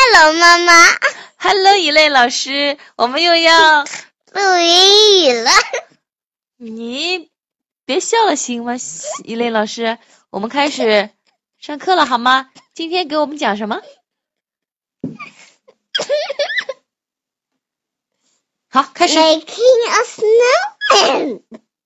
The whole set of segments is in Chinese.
Hello， 妈妈。 Hello， 一类老师，我们又要录英语了。 你别笑了行吗？一类老师，我们开始上课了好吗？今天给我们讲什么？好，开始。 Making a snowman.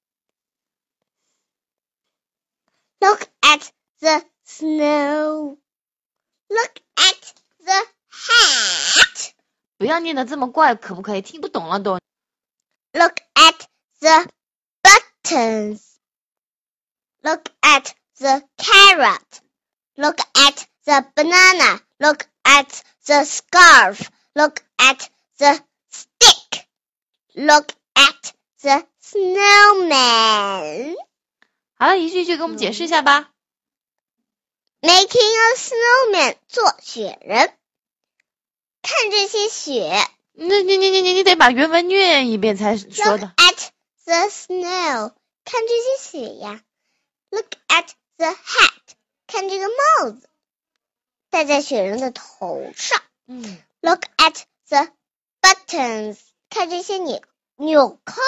Look at the snow. Look at the hat. 不要念得这么怪，可不可以？听不懂了都。 Look at the buttons. Look at the carrot. Look at the banana. Look at the scarf. Look at the stick. Look at the snowman. 好了，一句一句给我们解释一下吧。 Making a snowman 做雪人。看这些雪。 你得把原文念一遍才说的。 Look at the snow. 看这些雪呀。Look at the hat. 看这个帽子，戴在雪人的头上。Look at the buttons. 看这些纽扣。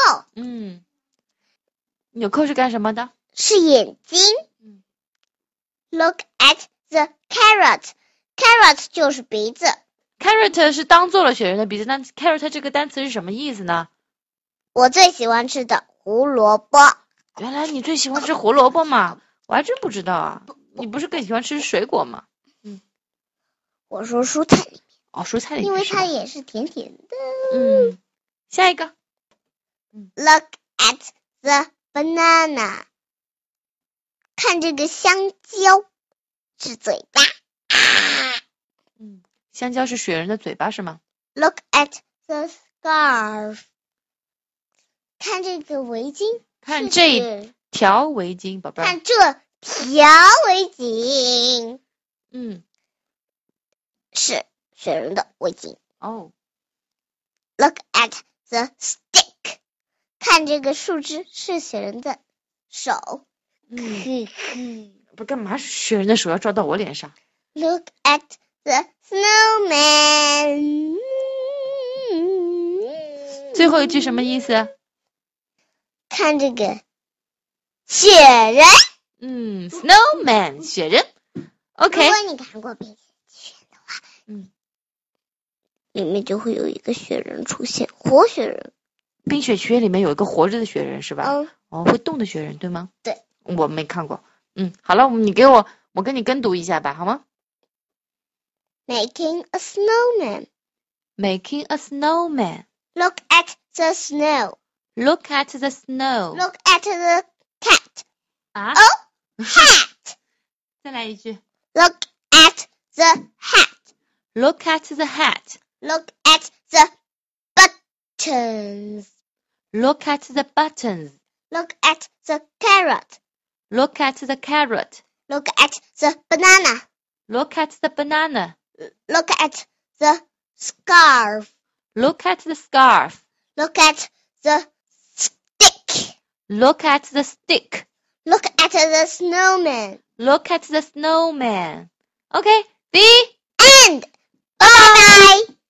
纽扣是干什么的？ 是眼睛。Look at the carrot. Carrot 就是鼻子。 Carrot 是当做了雪人的鼻子，那 carrot 这个单词是什么意思呢？ 我最喜欢吃的胡萝卜。 原来你最喜欢吃胡萝卜吗？我还真不知道啊。你不是更喜欢吃水果吗？ 我说蔬菜里面。 哦，蔬菜里面。 因为它也是甜甜的。 下一个。 Look at the banana. 看这个香蕉，是嘴巴。 香蕉是雪人的嘴巴是吗？ Look at the scarf. 看这个围巾， 看这条围巾，宝贝儿。 看这条围巾。是雪人的围巾。Look at the stick. 看这个树枝，是雪人的手。 不干嘛雪人的手要照到我脸上？ Look at the snowman. 最后一句什么意思？ 看这个雪人。 snowman 雪人。OK。 如果你看过冰雪的话，里面就会有一个雪人出现，活雪人。 冰雪奇缘里面有一个活着的雪人是吧？会动的雪人对吗？ 对。 我没看过。好了，你给我跟你跟读一下吧，好吗？ Making a snowman. Making a snowman. Look at the snow. Look at the snow. Look at the cat. Hat. 再来一句。 Look at the hat. Look at the hat. Look at the buttons. Look at the buttons. Look at the carrot. Look at the carrot. Look at the banana. Look at the banana. Look at the scarf. Look at the scarf. Look at the stick. Look at the stick. Look at the snowman. Look at the snowman. Okay, the end. Bye bye.